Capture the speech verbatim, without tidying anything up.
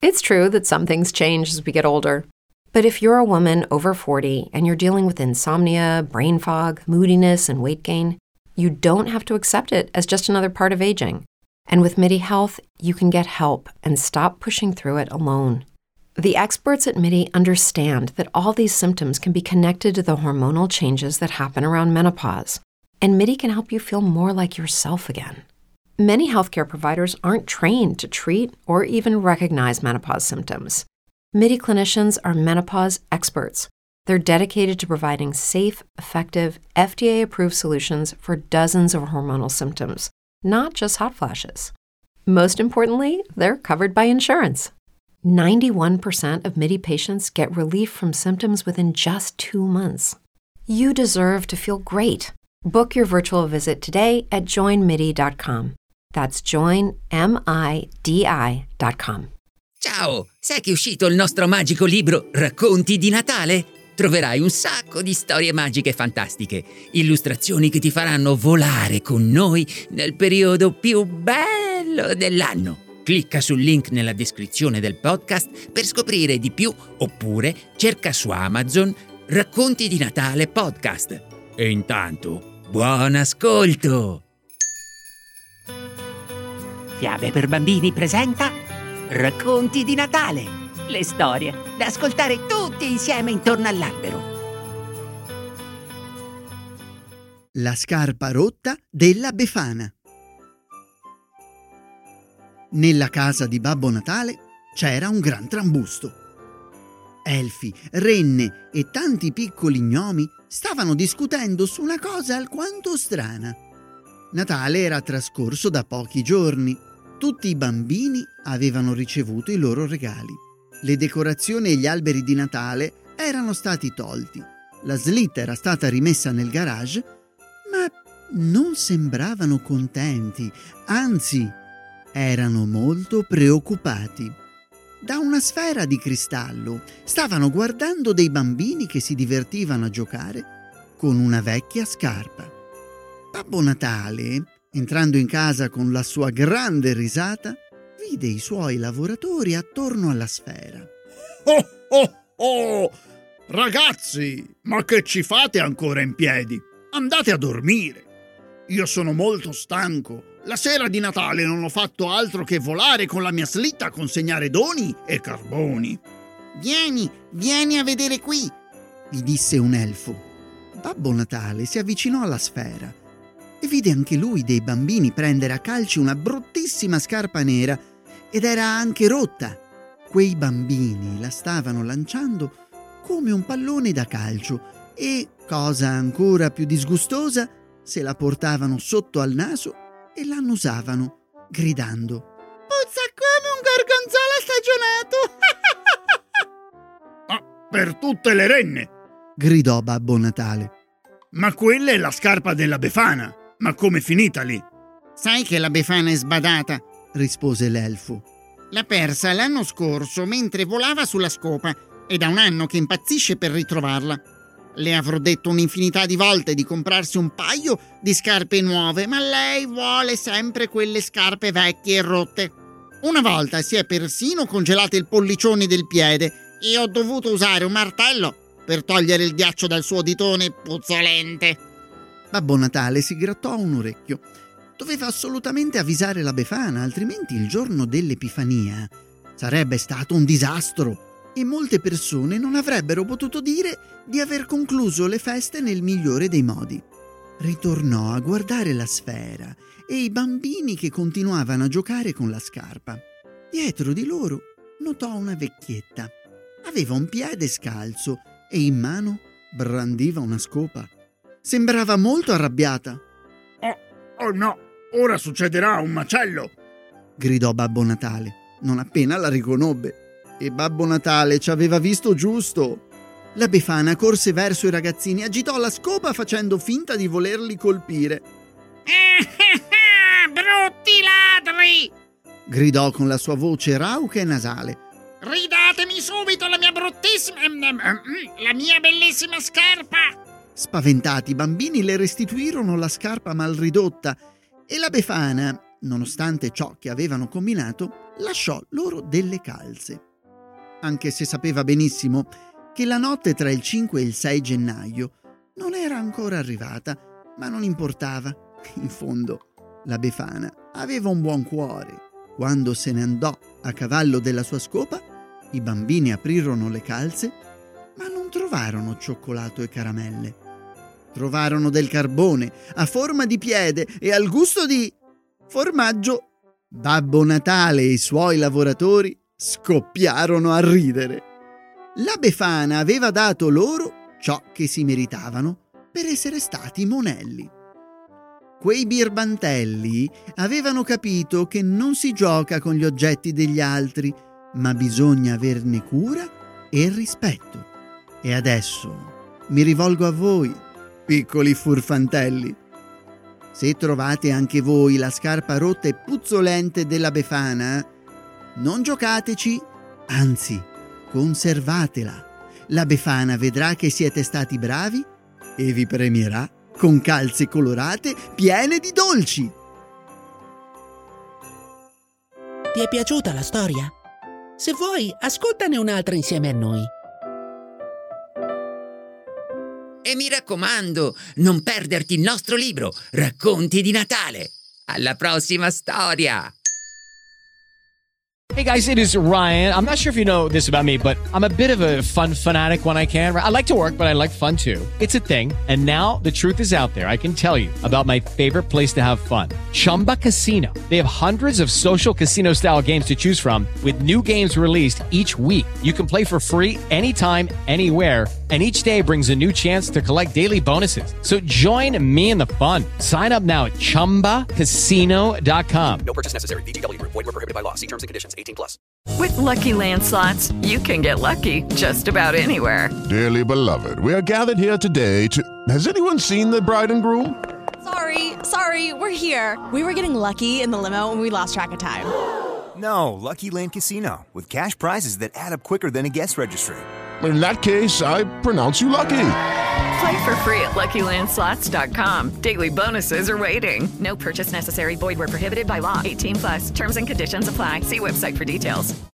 It's true that some things change as we get older. But if you're a woman over forty and you're dealing with insomnia, brain fog, moodiness, and weight gain, you don't have to accept it as just another part of aging. And with MIDI Health, you can get help and stop pushing through it alone. The experts at MIDI understand that all these symptoms can be connected to the hormonal changes that happen around menopause, and MIDI can help you feel more like yourself again. Many healthcare providers aren't trained to treat or even recognize menopause symptoms. MIDI clinicians are menopause experts. They're dedicated to providing safe, effective, F D A-approved solutions for dozens of hormonal symptoms, not just hot flashes. Most importantly, they're covered by insurance. ninety-one percent of MIDI patients get relief from symptoms within just two months. You deserve to feel great. Book your virtual visit today at join midi dot com. That's join midi dot com. Ciao, sai che è uscito il nostro magico libro Racconti di Natale? Troverai un sacco di storie magiche e fantastiche, illustrazioni che ti faranno volare con noi nel periodo più bello dell'anno. Clicca sul link nella descrizione del podcast per scoprire di più, oppure cerca su Amazon Racconti di Natale Podcast. E intanto, buon ascolto! Fiabe per bambini presenta Racconti di Natale, le storie da ascoltare tutti insieme intorno all'albero. La scarpa rotta della Befana. Nella casa di Babbo Natale c'era un gran trambusto. Elfi, renne e tanti piccoli gnomi stavano discutendo su una cosa alquanto strana. Natale era trascorso da pochi giorni. Tutti i bambini avevano ricevuto i loro regali. Le decorazioni e gli alberi di Natale erano stati tolti. La slitta era stata rimessa nel garage, ma non sembravano contenti, anzi, erano molto preoccupati. Da una sfera di cristallo stavano guardando dei bambini che si divertivano a giocare con una vecchia scarpa. Babbo Natale, entrando in casa con la sua grande risata, vide i suoi lavoratori attorno alla sfera. Oh, oh, oh! Ragazzi, ma che ci fate ancora in piedi? Andate a dormire. Io sono molto stanco. La sera di Natale non ho fatto altro che volare con la mia slitta a consegnare doni e carboni. Vieni, vieni a vedere qui, gli disse un elfo. Babbo Natale si avvicinò alla sfera e vide anche lui dei bambini prendere a calci una bruttissima scarpa nera, ed era anche rotta. Quei bambini la stavano lanciando come un pallone da calcio e, cosa ancora più disgustosa, se la portavano sotto al naso e l'annusavano, gridando: «Puzza come un gorgonzola stagionato!» «Ah, per tutte le renne!» gridò Babbo Natale. «Ma quella è la scarpa della Befana! Ma com'è finita lì?» «Sai che la Befana è sbadata», rispose l'elfo. «L'ha persa l'anno scorso mentre volava sulla scopa e da un anno che impazzisce per ritrovarla. Le avrò detto un'infinità di volte di comprarsi un paio di scarpe nuove, ma lei vuole sempre quelle scarpe vecchie e rotte. Una volta si è persino congelato il pollicione del piede e ho dovuto usare un martello per togliere il ghiaccio dal suo ditone puzzolente». Babbo Natale si grattò un orecchio. Doveva assolutamente avvisare la Befana, altrimenti il giorno dell'Epifania sarebbe stato un disastro e molte persone non avrebbero potuto dire di aver concluso le feste nel migliore dei modi. Ritornò a guardare la sfera e i bambini che continuavano a giocare con la scarpa. Dietro di loro notò una vecchietta. Aveva un piede scalzo e in mano brandiva una scopa. Sembrava molto arrabbiata. «Oh, oh no, ora succederà un macello!» gridò Babbo Natale, non appena la riconobbe. E Babbo Natale ci aveva visto giusto. La Befana corse verso i ragazzini e agitò la scopa facendo finta di volerli colpire. «Brutti ladri!» gridò con la sua voce rauca e nasale. «Ridatemi subito la mia bruttissima... la mia bellissima scarpa!» Spaventati, i bambini le restituirono la scarpa mal ridotta e la Befana, nonostante ciò che avevano combinato, lasciò loro delle calze. Anche se sapeva benissimo che la notte tra il cinque e il sei gennaio non era ancora arrivata, ma non importava. In fondo, la Befana aveva un buon cuore. Quando se ne andò a cavallo della sua scopa, i bambini aprirono le calze, ma non trovarono cioccolato e caramelle. Trovarono del carbone a forma di piede e al gusto di formaggio. Babbo Natale e i suoi lavoratori scoppiarono a ridere. La Befana aveva dato loro ciò che si meritavano per essere stati monelli. Quei birbantelli avevano capito che non si gioca con gli oggetti degli altri, ma bisogna averne cura e rispetto. E adesso mi rivolgo a voi, piccoli furfantelli. Se trovate anche voi la scarpa rotta e puzzolente della Befana, non giocateci, anzi, conservatela. La Befana vedrà che siete stati bravi e vi premierà con calze colorate piene di dolci. Ti è piaciuta la storia? Se vuoi, ascoltane un'altra insieme a noi. E mi raccomando, non perderti il nostro libro, Racconti di Natale. Alla prossima storia! Hey guys, it is Ryan. I'm not sure if you know this about me, but I'm a bit of a fun fanatic when I can. I like to work, but I like fun too. It's a thing. And now the truth is out there. I can tell you about my favorite place to have fun. Chumba Casino. They have hundreds of social casino style games to choose from with new games released each week. You can play for free anytime, anywhere. And each day brings a new chance to collect daily bonuses. So join me in the fun. Sign up now at chumba casino dot com. No purchase necessary. V G W. Void where prohibited by law. See terms and conditions. eighteen plus. With Lucky Land Slots, you can get lucky just about anywhere. Dearly beloved, we are gathered here today to... Has anyone seen the bride and groom? Sorry, sorry, we're here. We were getting lucky in the limo and we lost track of time. No, Lucky Land Casino, with cash prizes that add up quicker than a guest registry. In that case, I pronounce you lucky. Play for free at lucky land slots dot com. Daily bonuses are waiting. No purchase necessary. Void where prohibited by law. eighteen plus. Terms and conditions apply. See website for details.